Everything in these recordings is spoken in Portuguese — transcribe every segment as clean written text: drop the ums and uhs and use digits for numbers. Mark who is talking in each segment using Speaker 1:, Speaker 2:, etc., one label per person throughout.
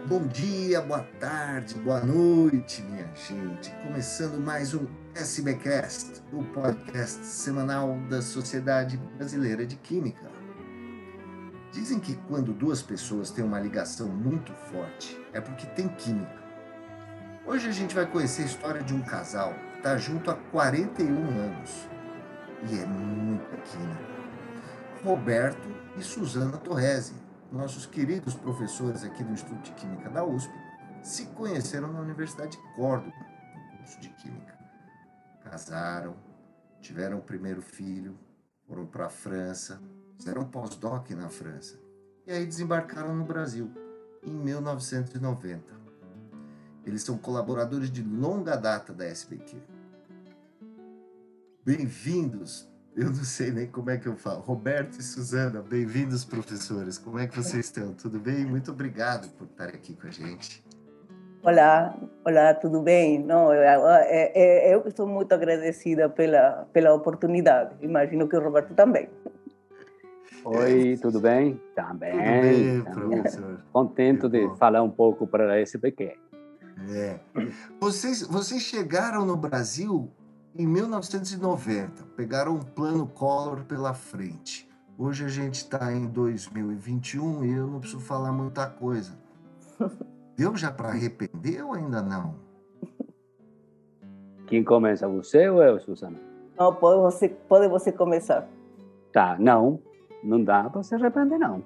Speaker 1: Bom dia, boa tarde, boa noite, minha gente. Começando mais um SBcast, o podcast semanal da Sociedade Brasileira de Química. Dizem que quando duas pessoas têm uma ligação muito forte, é porque tem química. Hoje a gente vai conhecer a história de um casal que está junto há 41 anos. E é muita química. Roberto e Suzana Torresi, nossos queridos professores aqui do Instituto de Química da USP, se conheceram na Universidade de Córdoba, no curso de Química. Casaram, tiveram o primeiro filho, foram para a França, fizeram um pós-doc na França e aí desembarcaram no Brasil, em 1990. Eles são colaboradores de longa data da SBQ. Bem-vindos! Eu não sei nem como é que eu falo. Roberto e Suzana, bem-vindos, professores. Como é que vocês estão? Tudo bem? Muito obrigado por estarem aqui com a gente.
Speaker 2: Olá, tudo bem? Não, eu estou muito agradecida pela oportunidade. Imagino que o Roberto também.
Speaker 3: Oi, tudo bem? Também.
Speaker 1: Tudo bem, professor.
Speaker 3: Contente de falar um pouco para a SBQ.
Speaker 1: Vocês chegaram no Brasil em 1990, pegaram um plano Collor pela frente. Hoje a gente está em 2021 e eu não preciso falar muita coisa. Deu já para arrepender ou ainda não?
Speaker 3: Quem começa, você ou eu, Suzana?
Speaker 2: Não, pode você começar.
Speaker 3: Tá, não dá para se arrepender, não.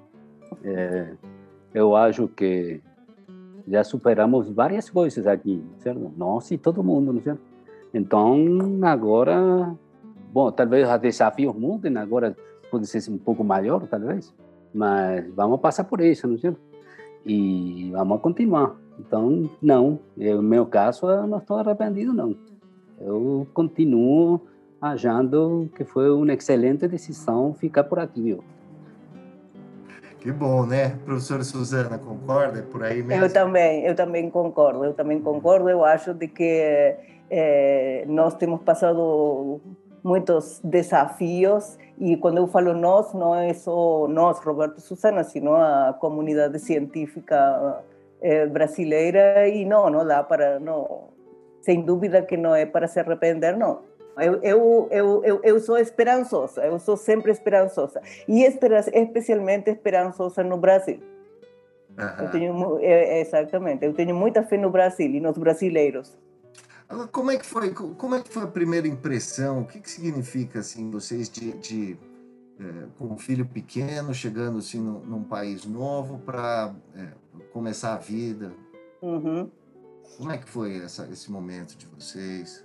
Speaker 3: Eu acho que já superamos várias coisas aqui, certo? Nós e todo mundo, não é certo? Então, agora, bom, talvez os desafios mudem, agora pode ser um pouco maior, talvez, mas vamos passar por isso, não é certo? E vamos continuar. Então, não, no meu caso, eu não estou arrependido, não. Eu continuo achando que foi uma excelente decisão ficar por aqui, viu?
Speaker 1: Que bom, né? Professora Suzana, concorda? É por aí mesmo?
Speaker 2: Eu também concordo. Eu acho de que nós temos passado muitos desafios e quando eu falo nós, não é só nós, Roberto e Suzana, sino a comunidade científica brasileira e não dá para, não, sem dúvida que não é para se arrepender, não. Eu sou esperançosa, eu sou sempre esperançosa e especialmente esperançosa no Brasil. Exatamente, eu tenho muita fé no Brasil e nos brasileiros.
Speaker 1: Como é que foi a primeira impressão? O que significa assim vocês com um filho pequeno chegando assim num país novo para começar a vida?
Speaker 2: Uhum.
Speaker 1: Como é que foi esse momento de vocês?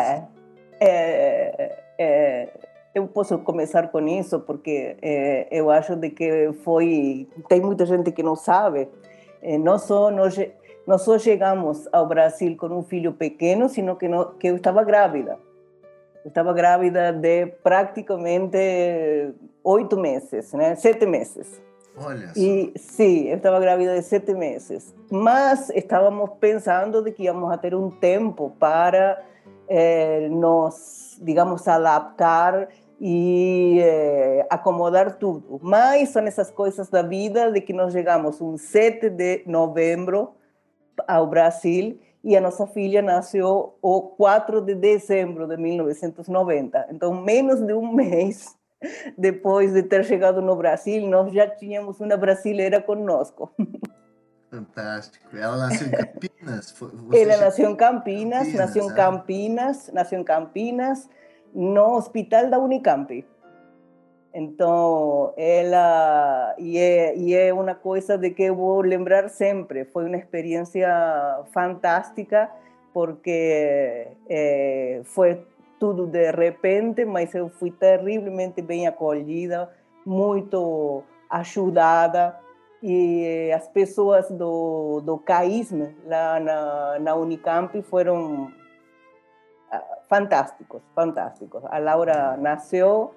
Speaker 2: Eu posso começar com isso porque eu acho de que tem muita gente que não sabe. Não só chegamos ao Brasil com um filho pequeno, sino que eu estava grávida. Eu estava grávida de praticamente 8 meses, né? 7 meses.
Speaker 1: Olha só.
Speaker 2: Sim, eu estava grávida de 7 meses. Mas estávamos pensando de que íamos a ter um tempo para nos, digamos, adaptar e acomodar tudo. Mas são essas coisas da vida de que nós chegamos um 7 de novembro ao Brasil e a nossa filha nasceu o 4 de dezembro de 1990. Então, menos de um mês depois de ter chegado no Brasil, nós já tínhamos uma brasileira conosco.
Speaker 1: Fantástico. Ela nasceu em Campinas?
Speaker 2: Ela nasceu em Campinas, no hospital da Unicamp. Então, ela... E é uma coisa de que eu vou lembrar sempre. Foi uma experiência fantástica, porque foi tudo de repente, mas eu fui terrivelmente bem acolhida, muito ajudada. E as pessoas do CAISM, lá na Unicamp, foram fantásticos. A Laura nasceu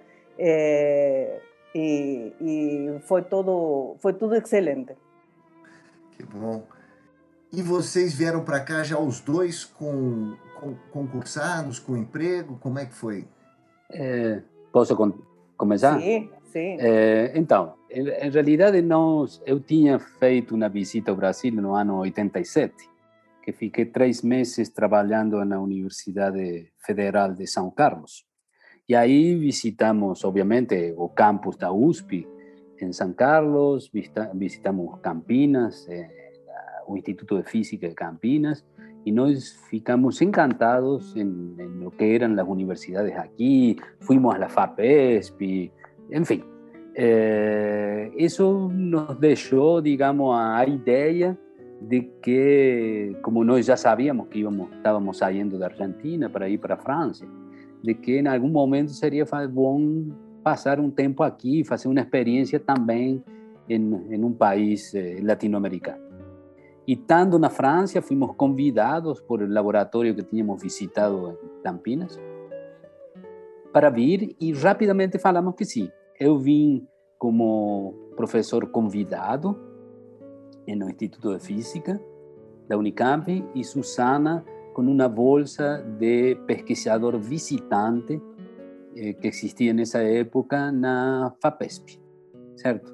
Speaker 2: e foi tudo excelente.
Speaker 1: Que bom. E vocês vieram para cá já os dois concursados, com emprego? Como é que foi?
Speaker 3: Posso começar?
Speaker 2: Sim.
Speaker 3: Então, em realidade, eu tinha feito uma visita ao Brasil no ano 87, que fiquei 3 meses trabalhando na Universidade Federal de São Carlos. E aí visitamos, obviamente, o campus da USP em São Carlos, visitamos Campinas, o Instituto de Física de Campinas, y nos ficamos encantados en lo que eran las universidades aquí, fuimos a la FAPESP, en fin. Eso nos dejó, digamos, a idea de que, como nós já sabíamos que estávamos saindo da Argentina para ir para a França, de que em algum momento seria bom passar um tempo aqui, fazer uma experiência também em um país latino-americano. E estando na França, fomos convidados por el laboratório que tínhamos visitado em Campinas para vir e rapidamente falamos que sim. Eu vim como professor convidado no Instituto de Física da Unicamp e Susana com uma bolsa de pesquisador visitante que existia nessa época na FAPESP, certo?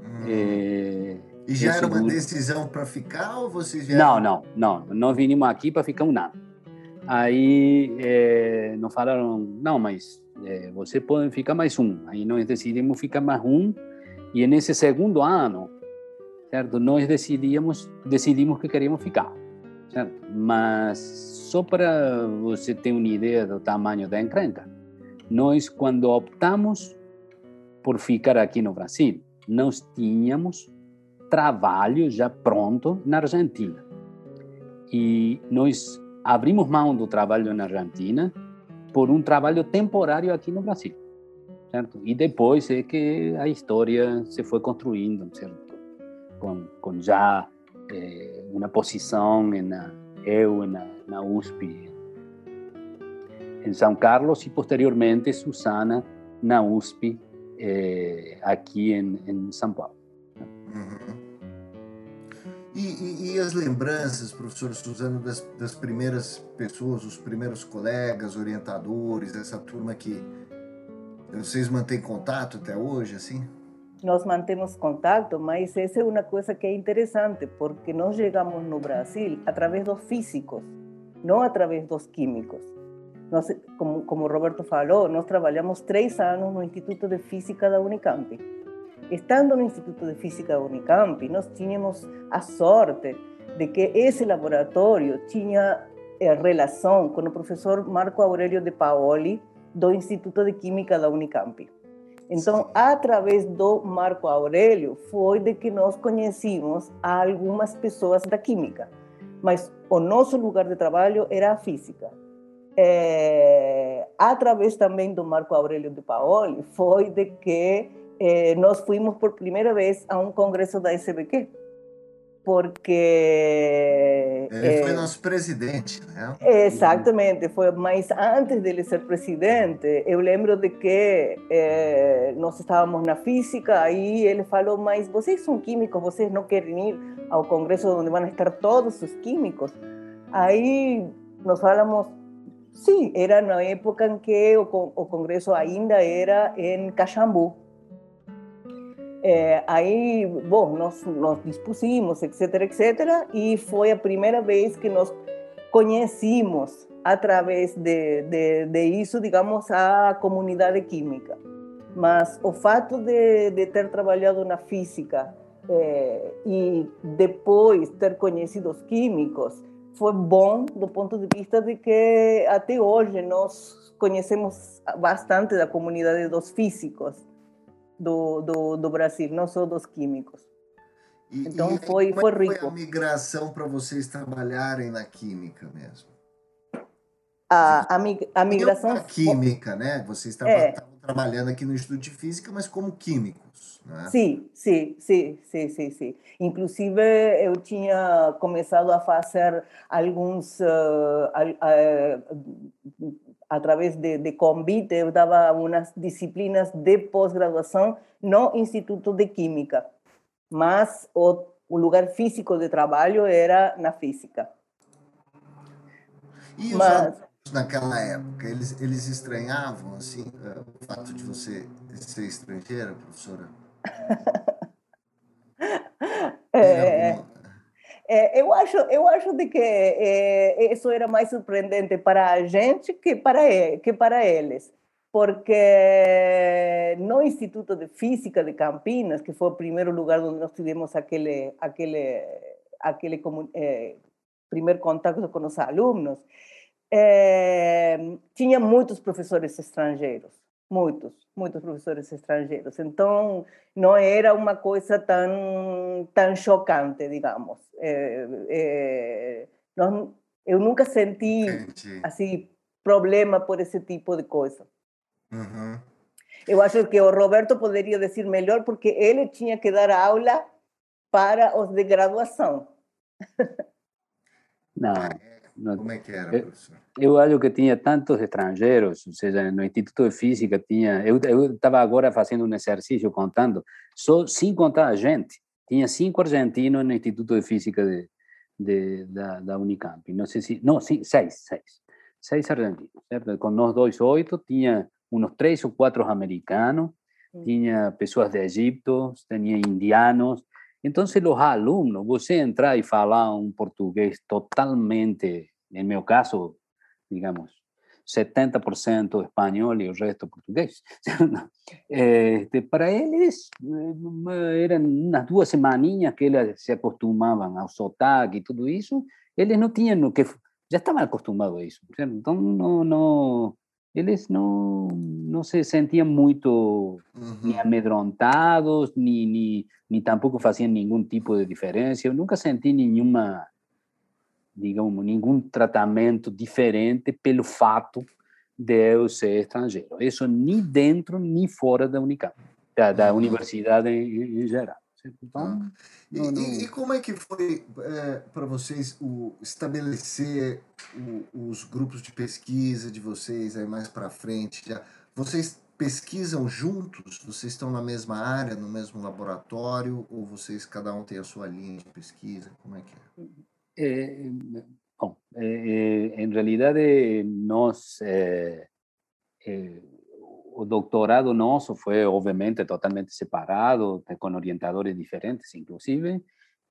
Speaker 1: E já era uma decisão para ficar ou vocês vieram?
Speaker 3: Não. Nós vinimos aqui para ficar um ano. Aí nos falaram, não, mas você pode ficar mais um. Aí nós decidimos ficar mais um e nesse segundo ano, certo? Nós decidimos que queríamos ficar, certo? Mas só para você ter uma ideia do tamanho da encrenca, nós quando optamos por ficar aqui no Brasil, nós tínhamos trabalho já pronto na Argentina. E nós abrimos mão do trabalho na Argentina por um trabalho temporário aqui no Brasil, certo? E depois é que a história se foi construindo, certo? Com já uma posição na USP em São Carlos e posteriormente Susana na USP aqui em São Paulo.
Speaker 1: Uhum. E as lembranças, professor Suzano, das primeiras pessoas, os primeiros colegas, orientadores, essa turma que vocês mantêm contato até hoje, assim?
Speaker 2: Nós mantemos contato, mas essa é uma coisa que é interessante, porque nós chegamos no Brasil através dos físicos, não através dos químicos. Nós, como o Roberto falou, nós trabalhamos 3 anos no Instituto de Física da Unicamp. Estando no Instituto de Física da Unicamp, nós tínhamos a sorte de que esse laboratório tinha relação com o professor Marco Aurélio de Paoli, do Instituto de Química da Unicamp. Então, através do Marco Aurélio, foi de que nós conhecemos algumas pessoas da química, mas o nosso lugar de trabalho era a física. Através também do Marco Aurélio de Paoli, foi de que nós fomos por primeira vez a um congresso da SBQ, porque...
Speaker 1: Ele foi nosso presidente, né?
Speaker 2: Exatamente, mas antes dele ser presidente, eu lembro de que nós estávamos na física, aí ele falou, mas vocês são químicos, vocês não querem ir ao congresso onde vão estar todos os químicos? Aí nós falamos, sim, era na época em que o congresso ainda era em Caxambu. Aí, bom, nós dispusimos, etc., e foi a primeira vez que nós conhecemos, através de isso, digamos, a comunidade química. Mas o fato de ter trabalhado na física e depois ter conhecido os químicos foi bom do ponto de vista de que até hoje nós conhecemos bastante da comunidade dos físicos do Brasil, não só dos químicos. Então foi rico.
Speaker 1: Foi a migração para vocês trabalharem na química mesmo?
Speaker 2: A migração...
Speaker 1: Na química, né? Vocês estavam trabalhando aqui no Instituto de Física, mas como químicos, né?
Speaker 2: Sim. Inclusive, eu tinha começado a fazer alguns... através de convite, eu dava umas disciplinas de pós-graduação no Instituto de Química, mas o lugar físico de trabalho era na física.
Speaker 1: E os alunos naquela época, eles estranhavam assim, o fato de você ser estrangeira, professora? Tem
Speaker 2: É,
Speaker 1: alguma...
Speaker 2: eu acho de que isso era mais surpreendente para a gente que para eles, porque no Instituto de Física de Campinas, que foi o primeiro lugar onde nós tivemos aquele primeiro contato com os alunos, tinha muitos professores estrangeiros, muitos professores estrangeiros. Então, não era uma coisa tão chocante, digamos. Eu nunca senti,
Speaker 1: Entendi.
Speaker 2: assim, problema por esse tipo de coisa.
Speaker 1: Uhum.
Speaker 2: Eu acho que o Roberto poderia dizer melhor, porque ele tinha que dar aula para os de graduação.
Speaker 3: Não, não.
Speaker 1: Como é que era,
Speaker 3: Eu,
Speaker 1: professor?
Speaker 3: eu acho que tinha tantos estrangeiros, ou seja, no Instituto de Física tinha... Eu estava agora fazendo um exercício contando, só sem contar a gente, tinha 5 argentinos no Instituto de Física da Unicamp. Não sei se... Não, sim, 6. 6 argentinos, certo? Com nós dois, 8, tinha uns 3 ou 4 americanos, tinha pessoas de Egipto, tinha indianos. Então, se os alunos, você entrar e falar um português totalmente, em meu caso, digamos, 70% espanhol e o resto português. Para eles, eram umas 2 semaninhas que eles se acostumavam ao sotaque e tudo isso, eles não tinham o que... Já estavam acostumados a isso. Certo? Então, eles não se sentiam muito ni amedrontados, ni tampoco faziam nenhum tipo de diferença. Eu nunca senti nenhuma, digamos, nenhum tratamento diferente pelo fato de eu ser estrangeiro. Isso nem dentro nem fora da Unicamp, da universidade em geral. Então,
Speaker 1: E como é que foi para vocês estabelecer os grupos de pesquisa de vocês aí mais para frente? Vocês pesquisam juntos? Vocês estão na mesma área, no mesmo laboratório? Ou vocês, cada um tem a sua linha de pesquisa? Como é que é?
Speaker 3: Bom, em realidade, nós... o doutorado nosso foi, obviamente, totalmente separado, com orientadores diferentes, inclusive.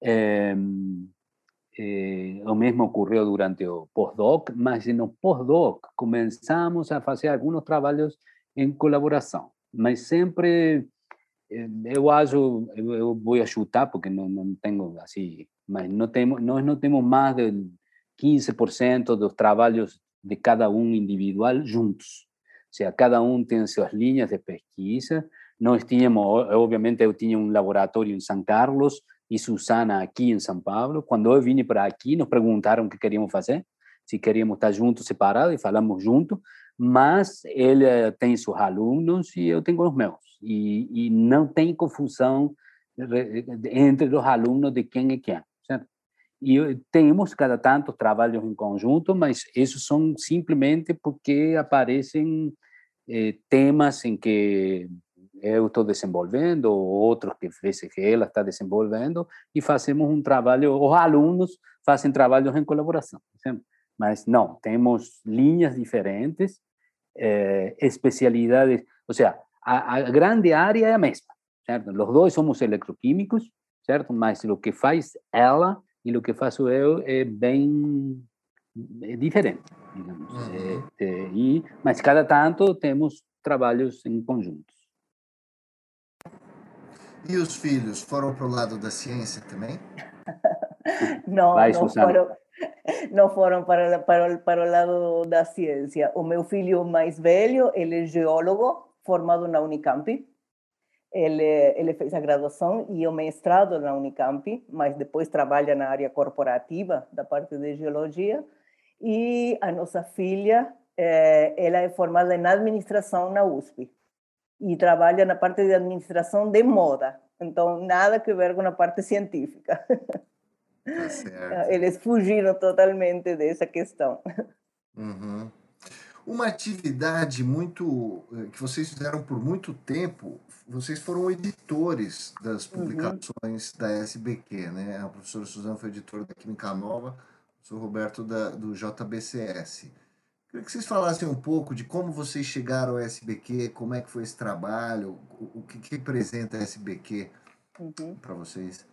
Speaker 3: O mesmo ocorreu durante o pós-doc, mas no pós-doc começamos a fazer alguns trabalhos em colaboração, mas sempre, eu acho, eu vou chutar, porque não tenho assim, mas nós não temos mais de 15% dos trabalhos de cada um individual juntos. Ou seja, cada um tem suas linhas de pesquisa. Nós tínhamos, obviamente, eu tinha um laboratório em São Carlos e Susana aqui em São Paulo. Quando eu vim para aqui, nos perguntaram o que queríamos fazer, se queríamos estar juntos, separados, e falamos juntos, mas ele tem seus alunos e eu tenho os meus. E não tem confusão entre os alunos de quem é quem, certo? E temos, cada tanto, trabalhos em conjunto, mas esses são simplesmente porque aparecem temas em que eu estou desenvolvendo, ou outros que vezes que ela está desenvolvendo, e fazemos um trabalho, os alunos fazem trabalhos em colaboração, certo? Mas não, temos linhas diferentes, especialidades, ou seja, a grande área é a mesma, certo? Os dois somos eletroquímicos, certo? Mas o que faz ela e o que faço eu é bem diferente, digamos. Mas cada tanto temos trabalhos em conjuntos.
Speaker 1: E os filhos foram para o lado da ciência também?
Speaker 2: Não,
Speaker 3: Vai, Susana.
Speaker 2: não foram para o lado da ciência. O meu filho mais velho, ele é geólogo, formado na Unicamp. Ele fez a graduação e o mestrado na Unicamp, mas depois trabalha na área corporativa, da parte de geologia. E a nossa filha, ela é formada em administração na USP e trabalha na parte de administração de moda. Então, nada que ver com a parte científica.
Speaker 1: Tá certo.
Speaker 2: Eles fugiram totalmente dessa questão.
Speaker 1: Uhum. Uma atividade muito que vocês fizeram por muito tempo, vocês foram editores das publicações da SBQ, né? A professora Suzana foi editora da Química Nova, o professor Roberto do JBCS. Queria que vocês falassem um pouco de como vocês chegaram ao SBQ, como é que foi esse trabalho, o que representa a SBQ
Speaker 2: Uhum.
Speaker 1: para vocês.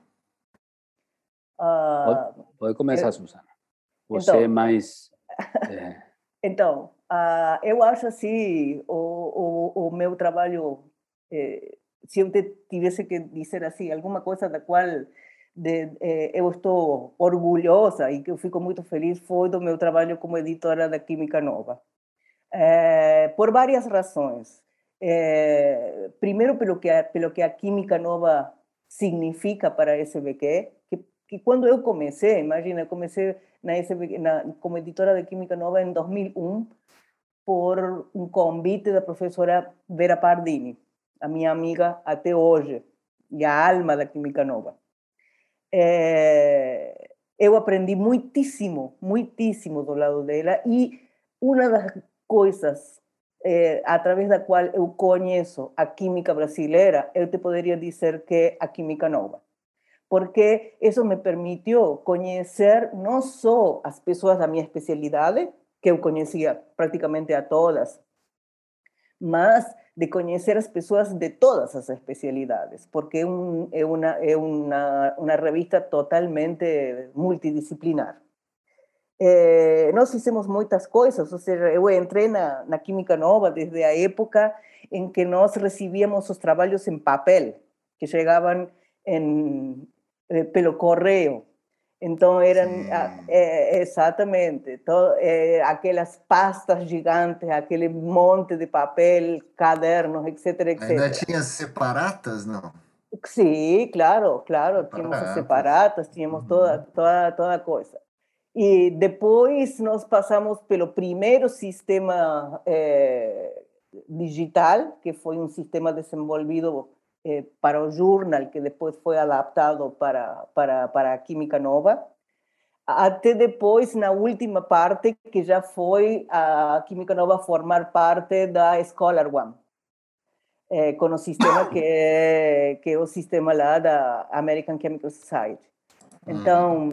Speaker 3: Pode,
Speaker 2: Ah,
Speaker 3: pode começar,
Speaker 2: eu,
Speaker 3: Susana. Você é
Speaker 2: então,
Speaker 3: mais... É,
Speaker 2: eu acho assim, o meu trabalho, se eu tivesse que dizer assim, alguma coisa da qual eu estou orgulhosa e que eu fico muito feliz, foi do meu trabalho como editora da Química Nova. Por várias razões. Primeiro, pelo que a Química Nova significa para a SBQ, que quando eu comecei, imagina, eu comecei na SBQ, como editora de Química Nova em 2001, por um convite da professora Vera Pardini, a minha amiga até hoje, e a alma da Química Nova. Eu aprendi muitíssimo, muitíssimo do lado dela, e uma das coisas através da qual eu conheço a química brasileira, eu te poderia dizer que é a Química Nova. Porque isso me permitiu conhecer não só as pessoas da minha especialidade, que eu conhecia praticamente a todas, mas de conhecer as pessoas de todas as especialidades, porque é uma revista totalmente multidisciplinar. Nós fizemos muitas coisas, ou seja, eu entrei na Química Nova desde a época em que nós recebíamos os trabalhos em papel, que chegavam pelo correio. Então eram exatamente aquelas pastas gigantes, aquele monte de papel, cadernos, etc,
Speaker 1: Ainda
Speaker 2: etc.
Speaker 1: tinha separatas, não?
Speaker 2: Sí, claro, claro, tínhamos as
Speaker 1: Separatas.
Speaker 2: separatas, tínhamos toda a coisa. E depois nós passamos pelo primeiro sistema digital, que foi um sistema desenvolvido para o jornal, que depois foi adaptado para a Química Nova, até depois, na última parte, que já foi a Química Nova formar parte da Scholar One, com o sistema que é o sistema lá da American Chemical Society. Então,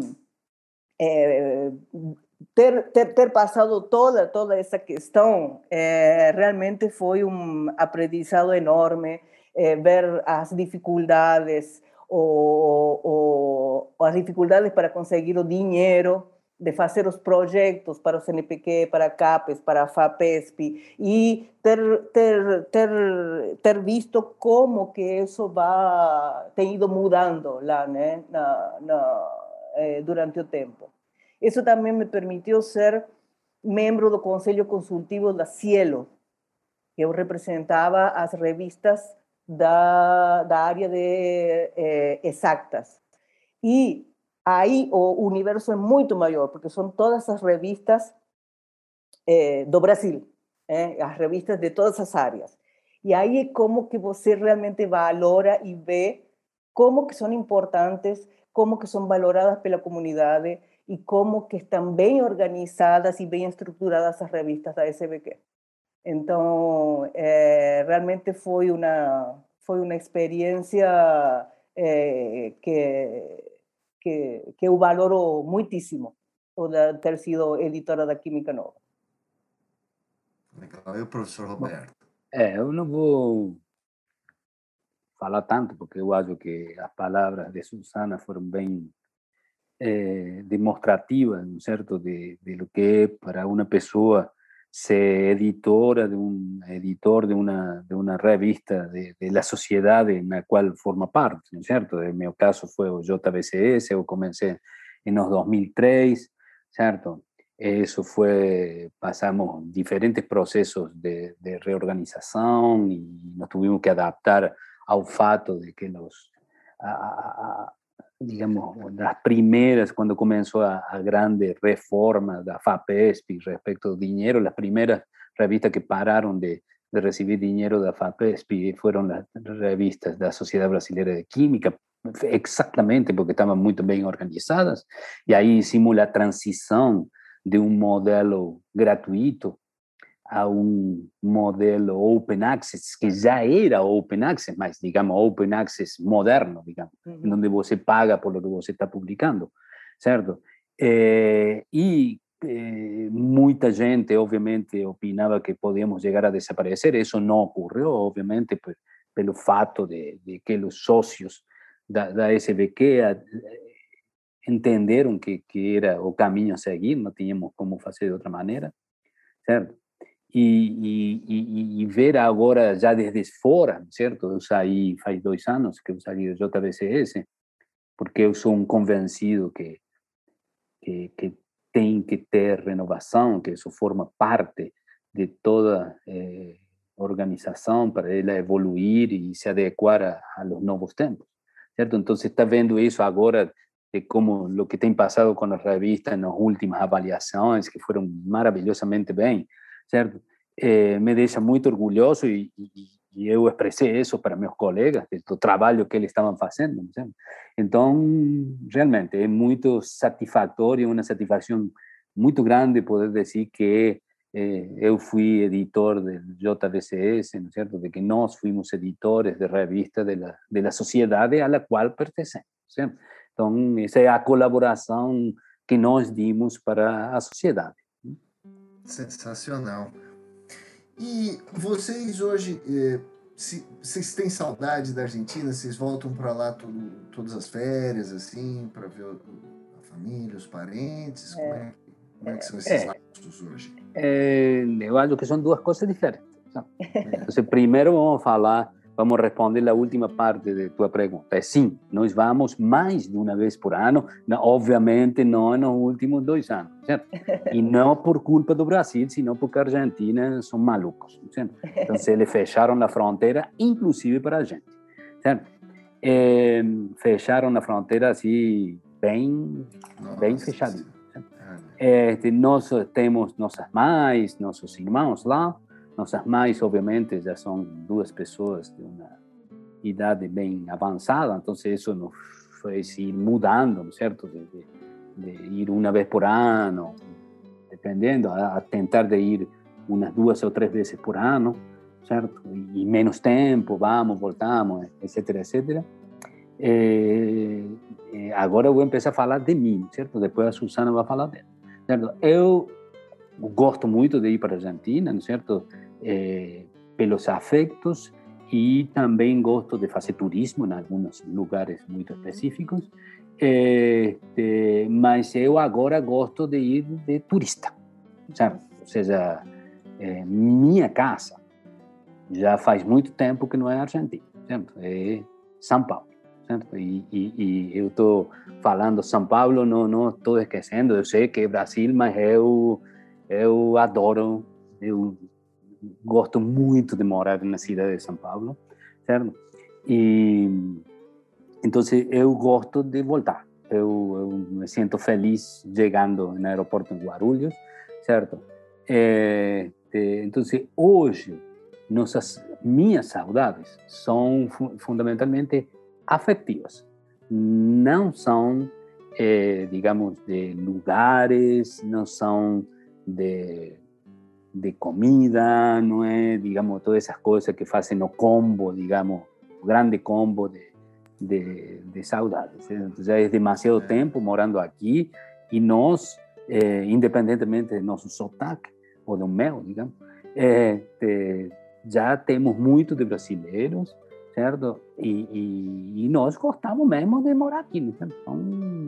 Speaker 2: ter passado toda essa questão realmente foi um aprendizado enorme, ver as dificuldades, as dificuldades para conseguir o dinheiro, de fazer os projetos para o CNPq, para a CAPES, para a FAPESP, e ter visto como que isso tem ido mudando lá, né, durante o tempo. Isso também me permitiu ser membro do Conselho Consultivo da Cielo, que eu representava as revistas da área de exatas. E aí o universo é muito maior, porque são todas as revistas do Brasil, as revistas de todas as áreas. E aí é como que você realmente valora e vê como que são importantes, como que são valoradas pela comunidade e como que estão bem organizadas e bem estruturadas as revistas da SBQ. Então, realmente foi uma experiência que eu valoro muitíssimo, o de ter sido editora da Química Nova.
Speaker 1: Legal. E o professor Roberto?
Speaker 3: eu não vou falar tanto, porque eu acho que as palavras de Susana foram bem demonstrativas, ¿no es cierto?, de lo que es para una pessoa ser editora de un editor de una revista de la sociedad en la cual forma parte, ¿no es cierto? En mi caso fue o JBCS, eu comencé en los 2003, ¿cierto? Eso fue, pasamos diferentes procesos de reorganización y nos tuvimos que adaptar ao fato de que digamos, las primeras, cuando comenzó a grande reforma da FAPESP respecto al dinero, las primeras revistas que pararon de recibir dinero da FAPESP fueron las revistas de la Sociedad Brasileira de Química, exactamente porque estaban muy bien organizadas, y ahí hicimos la transición de un modelo gratuito a um modelo open access, que já era open access, mas, digamos, open access moderno, digamos, onde você paga por lo que você está publicando, certo? E muita gente, obviamente, opinava que podíamos chegar a desaparecer. Isso não ocorreu, obviamente, pelo fato de que os sócios da SBQ entenderam que era o caminho a seguir, não tínhamos como fazer de outra maneira, certo? E ver agora, já desde fora, certo? Eu saí faz 2 anos que eu saí do JBCS, porque eu sou convencido que tem que ter renovação, que isso forma parte de toda organização para ela evoluir e se adequar a los novos tempos, certo? Então, está vendo isso agora de como o que tem passado com as revistas nas últimas avaliações, que foram maravilhosamente bem, certo? Me deixa muito orgulhoso e eu expressei isso para meus colegas, do trabalho que eles estavam fazendo, certo? Então, realmente, é muito satisfatório, uma satisfação muito grande poder dizer que eu fui editor do JBCS, ¿no es cierto? De que nós fuimos editores de revista de la sociedade a la qual pertencemos, ¿cierto? Então, essa é a colaboração que nós dimos para a sociedade.
Speaker 1: Sensacional. E vocês hoje, vocês têm saudade da Argentina? Vocês voltam para lá todas as férias, assim, para ver a família, os parentes? Como é que são esses laços hoje?
Speaker 3: Eu acho que são duas coisas diferentes. Então, primeiro vamos responder a última parte de tua pergunta. Sim, nós vamos mais de uma vez por ano, obviamente não nos últimos 2 anos, certo? E não por culpa do Brasil, senão porque a Argentina são malucos, certo? Então, eles fecharam a fronteira, inclusive para a gente, certo? Fecharam a fronteira assim, bem fechadinho. Nós temos nossas mães, nossos irmãos lá. Nossas mães, obviamente, já são 2 pessoas de uma idade bem avançada, então isso nos fez ir mudando, certo? De ir uma vez por ano, dependendo, a tentar de ir umas 2 ou 3 vezes por ano, certo? E menos tempo, vamos, voltamos, etc, etc. Agora eu vou começar a falar de mim, certo? Depois a Susana vai falar dela, certo? Eu gosto muito de ir para a Argentina, certo? Pelos afetos, e também gosto de fazer turismo em alguns lugares muito específicos, mas eu agora gosto de ir de turista, certo? Ou seja, minha casa já faz muito tempo que não é Argentina, certo? É São Paulo, certo? E eu estou falando São Paulo, não estou esquecendo, eu sei que é Brasil, mas eu adoro, eu gosto muito de morar na cidade de São Paulo, certo? E então eu gosto de voltar. Eu me sinto feliz chegando no aeroporto em Guarulhos, certo? Então hoje minhas saudades são fundamentalmente afetivas, não são, digamos, de lugares, não são de comida, não é, digamos, todas essas coisas que fazem o combo, digamos, o grande combo de saudades. Então, já é demasiado tempo morando aqui e nós, independentemente do nosso sotaque, ou do meu, digamos, já temos muito de brasileiros, certo? E nós gostamos mesmo de morar aqui. Então,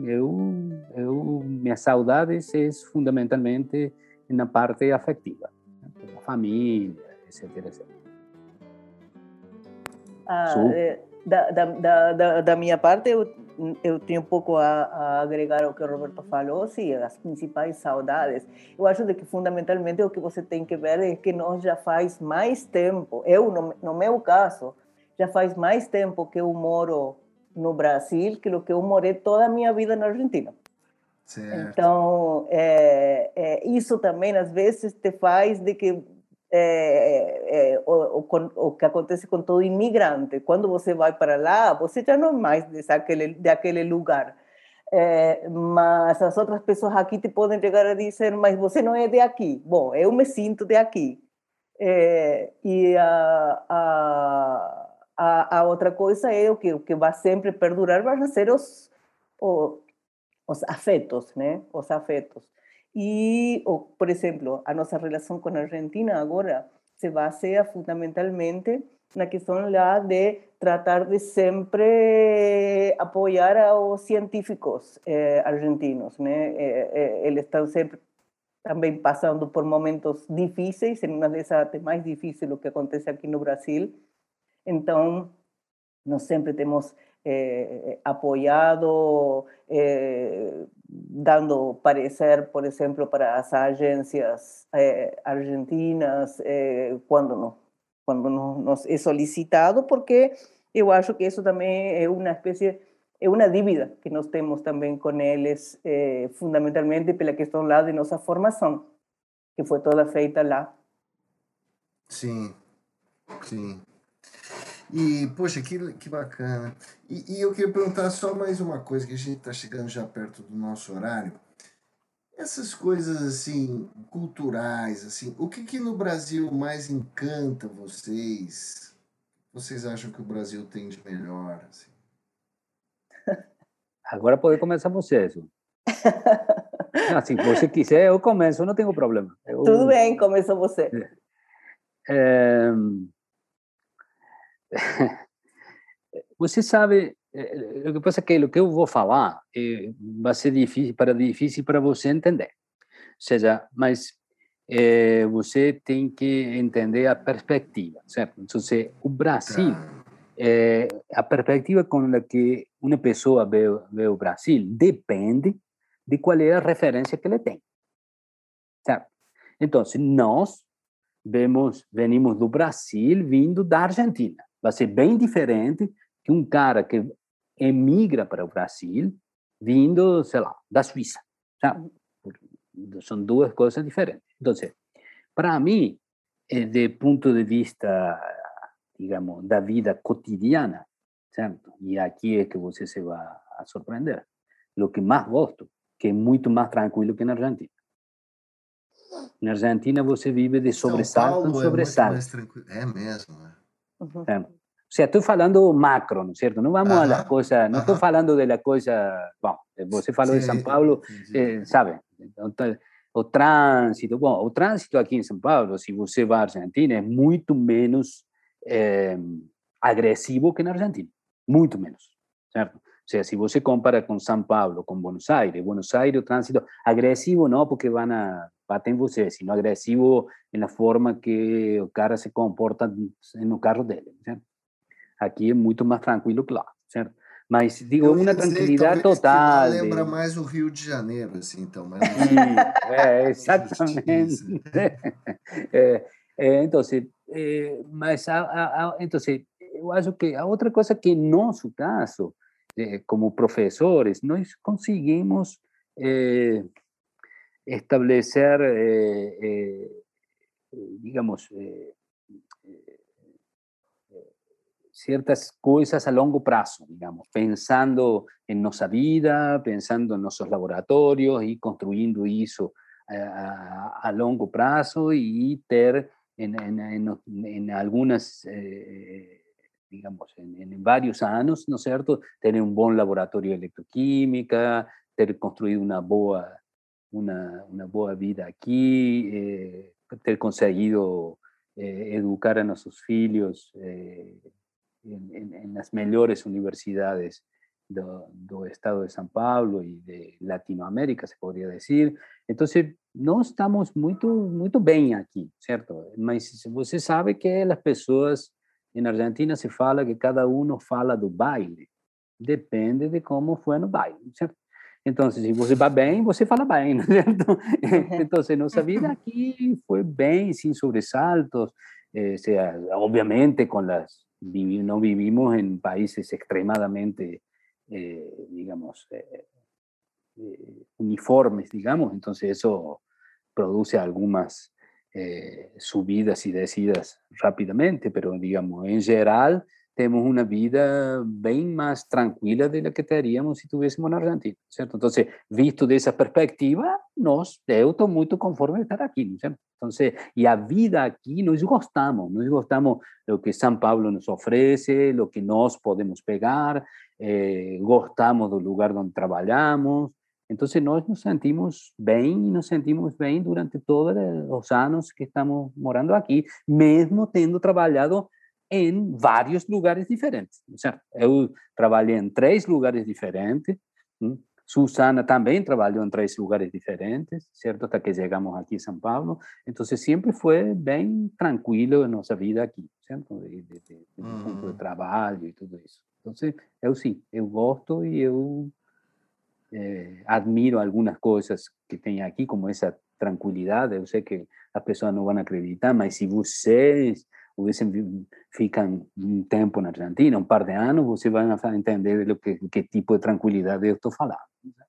Speaker 3: minhas saudades é fundamentalmente na parte afetiva. Da família, etc, etc.
Speaker 2: Da minha parte, eu tenho um pouco a agregar ao que o Roberto falou, sim, as principais saudades. Eu acho que fundamentalmente o que você tem que ver é que nós já faz mais tempo, no meu caso, já faz mais tempo que eu moro no Brasil que o que eu morei toda a minha vida na Argentina. Certo. Então, isso também, às vezes, te faz de que o que acontece com todo imigrante. Quando você vai para lá, você já não é mais daquele lugar. Mas as outras pessoas aqui te podem chegar a dizer, mas você não é de aqui. Bom, eu me sinto de aqui. E a outra coisa é o que vai sempre perdurar, vai ser os afetos, né? Os afetos. E, por exemplo, a nossa relação com a Argentina agora se baseia fundamentalmente na questão lá de tratar de sempre apoiar os científicos argentinos, né? Eles estão sempre também passando por momentos difíceis, em uma dessas até mais difíceis do que acontece aqui no Brasil. Então, nós sempre temos apoiado, dando parecer, por exemplo, para as agências argentinas, quando nos é solicitado, porque eu acho que isso também é uma espécie, é uma dívida que nós temos também com eles, fundamentalmente pela questão lá de nossa formação, que foi toda feita lá.
Speaker 1: Sim, sim. E, poxa, que bacana. E eu queria perguntar só mais uma coisa, que a gente está chegando já perto do nosso horário. Essas coisas, assim, culturais, assim, o que no Brasil mais encanta vocês? Vocês acham que o Brasil tem de melhor, assim?
Speaker 3: Agora pode começar você, isso. Não, se você quiser, eu começo, não tenho problema.
Speaker 2: Tudo bem, começa você.
Speaker 3: Você sabe, o que passa é que o que eu vou falar vai ser difícil para você entender. Ou seja, mas você tem que entender a perspectiva, certo? Então, o Brasil, a perspectiva com a que uma pessoa vê o Brasil depende de qual é a referência que ele tem, certo? Então, nós venimos do Brasil vindo da Argentina. Vai ser bem diferente que um cara que emigra para o Brasil vindo, sei lá, da Suíça, sabe? São duas coisas diferentes. Então, para mim, do ponto de vista, digamos, da vida cotidiana, certo? E aqui é que você se vai a surpreender. O que mais gosto, que é muito mais tranquilo que na Argentina. Na Argentina você vive de sobressalto em sobressalto.
Speaker 1: É muito mais tranquilo. É mesmo, né?
Speaker 2: Uhum.
Speaker 3: O sea, estou falando macro, ¿no es cierto? No vamos a las cosas, no estoy hablando de la cosa, bueno, você falou de São Paulo, sabe, o trânsito, bom, o trânsito aqui em São Paulo, se você vai à Argentina, é muito menos agressivo que na Argentina, muito menos, certo? Ou seja, se você compara com São Paulo, com Buenos Aires, o trânsito agressivo não porque batem em você, sino agressivo na forma que o cara se comporta no carro dele, certo? Aqui é muito mais tranquilo que lá, certo? Mas, digo, uma tranquilidade total.
Speaker 1: Lembra mais o Rio de Janeiro, assim, então. Mas
Speaker 3: exatamente. Então, mas, então, eu acho que a outra coisa que, em nosso caso, como professores, nós conseguimos establecer, digamos, ciertas cosas a longo prazo, digamos, pensando en nuestra vida, pensando en nuestros laboratorios y construyendo eso a longo prazo y ter en algunas, digamos, en varios años, ¿no es cierto?, tener un buen laboratorio de electroquímica, ter construido una boa vida aquí, ter conseguido educar a nuestros filhos en las mejores universidades do estado de São Paulo y de Latinoamérica, se podría decir. Entonces, no estamos muito bem aqui, certo? Mas você sabe que as pessoas em Argentina se fala que cada uno fala do baile. Depende de como foi no baile, certo? Então, se você vai bem, você fala bem, não é certo? Então, nossa vida aqui foi bem, sem sobressaltos, obviamente no vivimos en países extremadamente, digamos, uniformes, digamos, entonces eso produce algunas subidas y descidas rápidamente, pero digamos, en general tenemos una vida bien más tranquila de la que teríamos si estuviésemos en Argentina, ¿cierto? Entonces, visto de esa perspectiva, eu estou muito conforme de estar aqui, ¿cierto? Entonces, y a vida aquí nos gostamos lo que São Paulo nos ofrece, lo que nós podemos pegar, gostamos del lugar donde trabajamos, Entonces, nós nos sentimos bem e nos sentimos bem durante todos os anos que estamos morando aqui, mesmo tendo trabalhado em vários lugares diferentes, certo? Eu trabalhei em 3 lugares diferentes, Susana também trabalhou em 3 lugares diferentes, certo? Até que chegamos aqui em São Paulo. Então, sempre foi bem tranquilo a nossa vida aqui, certo? Do ponto de trabalho e tudo isso. Então, eu sim, eu gosto e eu admiro algumas coisas que tem aqui, como essa tranquilidade. Eu sei que as pessoas não vão acreditar, mas se vocês ficam um tempo na Argentina, um par de anos, vocês vão entender do que tipo de tranquilidade eu estou falando.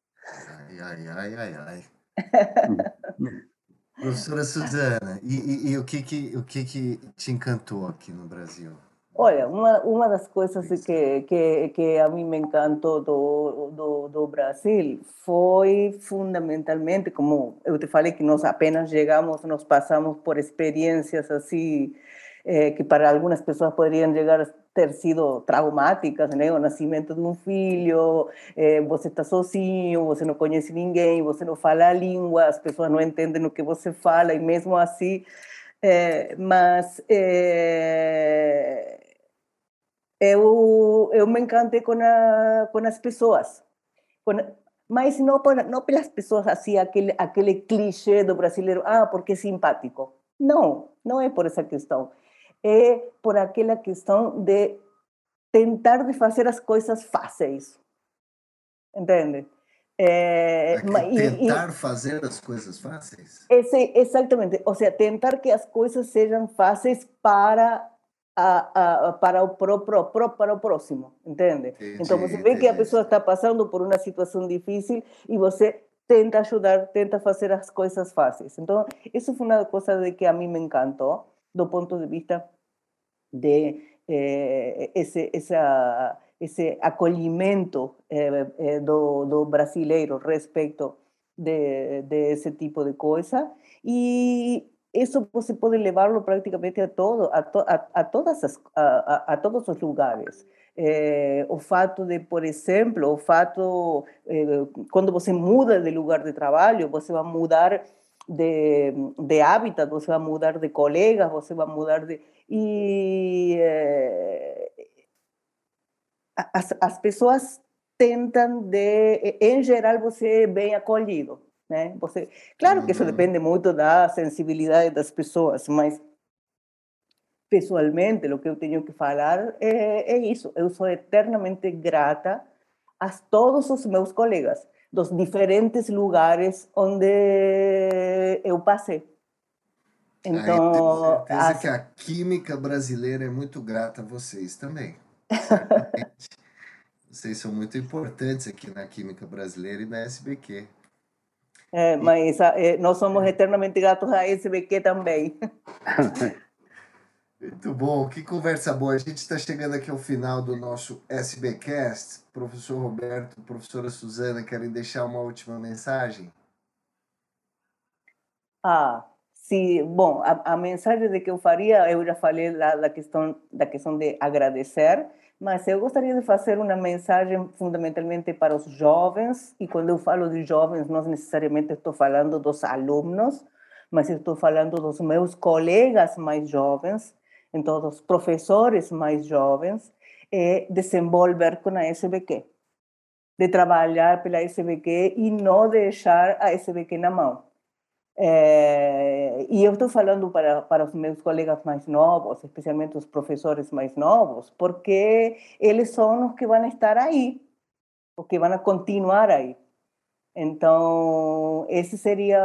Speaker 1: Ai. Professora Suzana, e o que te encantou aqui no Brasil?
Speaker 2: Olha, uma das coisas que a mim me encantou do Brasil foi fundamentalmente, como eu te falei, que nós apenas chegamos, nós passamos por experiências assim, que para algumas pessoas poderiam chegar a ter sido traumáticas, né? O nascimento de um filho, você está sozinho, você não conhece ninguém, você não fala a língua, as pessoas não entendem o que você fala, e mesmo assim mas eu me encantei com as pessoas, com, mas não pelas pessoas assim, aquele clichê do brasileiro, porque é simpático. Não é por essa questão. É por aquela questão de tentar de fazer as coisas fáceis. Entende?
Speaker 1: Tentar fazer as coisas fáceis?
Speaker 2: Exatamente. Ou seja, tentar que as coisas sejam fáceis para para o próximo, entende?
Speaker 1: Entendi,
Speaker 2: então você vê que a pessoa está passando por uma situação difícil e você tenta ajudar, tenta fazer as coisas fáceis. Então, isso foi uma coisa de que a mim me encantou, do ponto de vista de esse acolhimento do brasileiro respeito de esse tipo de coisa, e isso você pode levá-lo praticamente a todos os lugares. O fato de, por exemplo, quando você muda de lugar de trabalho, você vai mudar de hábitat, você vai mudar de colegas, você vai mudar de... E as pessoas tentam em geral, você é bem acolhido, né? Claro que isso depende muito da sensibilidade das pessoas, mas pessoalmente, o que eu tenho que falar é isso. Eu sou eternamente grata a todos os meus colegas dos diferentes lugares onde eu passei.
Speaker 1: Então, eu tenho certeza que a química brasileira é muito grata a vocês também. Certamente. Vocês são muito importantes aqui na química brasileira e na SBQ.
Speaker 2: Mas nós somos eternamente gratos a SBQ também.
Speaker 1: Muito bom, que conversa boa. A gente está chegando aqui ao final do nosso SBcast. Professor Roberto, professora Suzana, querem deixar uma última mensagem?
Speaker 2: Sim. Bom, a mensagem de que eu faria, eu já falei da questão de agradecer, mas eu gostaria de fazer uma mensagem fundamentalmente para os jovens, e quando eu falo de jovens, não necessariamente estou falando dos alunos, mas estou falando dos meus colegas mais jovens, então dos professores mais jovens, desenvolver com a SBQ, de trabalhar pela SBQ e não deixar a SBQ na mão. E eu estou falando para os meus colegas mais novos, especialmente os professores mais novos, porque eles são os que vão estar aí, os que vão continuar aí. Então, esse seria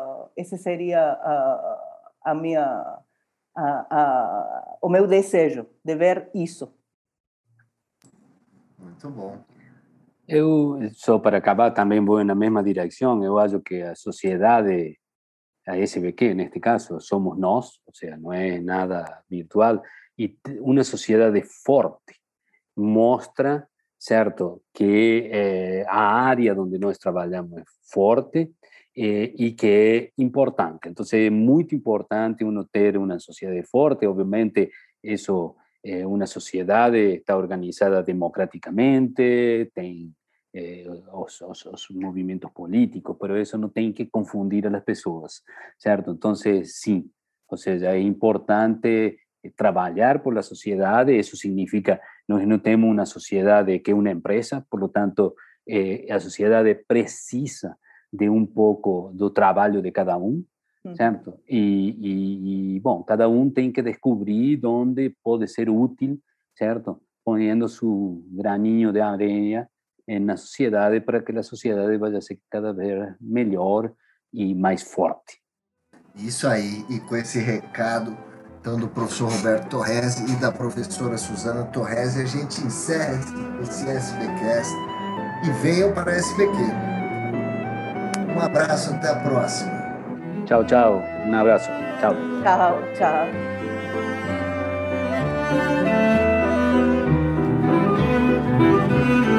Speaker 2: o meu desejo, de ver isso.
Speaker 1: Muito bom.
Speaker 3: Eu, só para acabar, também vou na mesma direção. Eu acho que a sociedade, a SBQ neste caso, somos nós, ou seja, não é nada virtual, e uma sociedade forte mostra, certo, que a área onde nós trabalhamos é forte e que é importante. Então, é muito importante uno ter uma sociedade forte. Obviamente, isso, uma sociedade está organizada democraticamente, tem os movimentos políticos, pero eso no tem que confundir a las pessoas, certo? Então, sim, ou seja, é importante trabalhar por la sociedade. Isso significa, nós não temos uma sociedade que é uma empresa, por lo tanto, a sociedade precisa de um pouco do trabalho de cada um, certo? Bom, cada um tem que descobrir onde pode ser útil, certo? Ponendo seu graninho de areia na sociedade para que a sociedade vá ser cada vez melhor e mais forte.
Speaker 1: Isso aí, e com esse recado então, do professor Roberto Torresi e da professora Suzana Torresi, a gente encerra esse SBcast e venham para a SBQ. Um abraço, até a próxima.
Speaker 3: Tchau, tchau. Um abraço. Tchau.
Speaker 2: Tchau, tchau.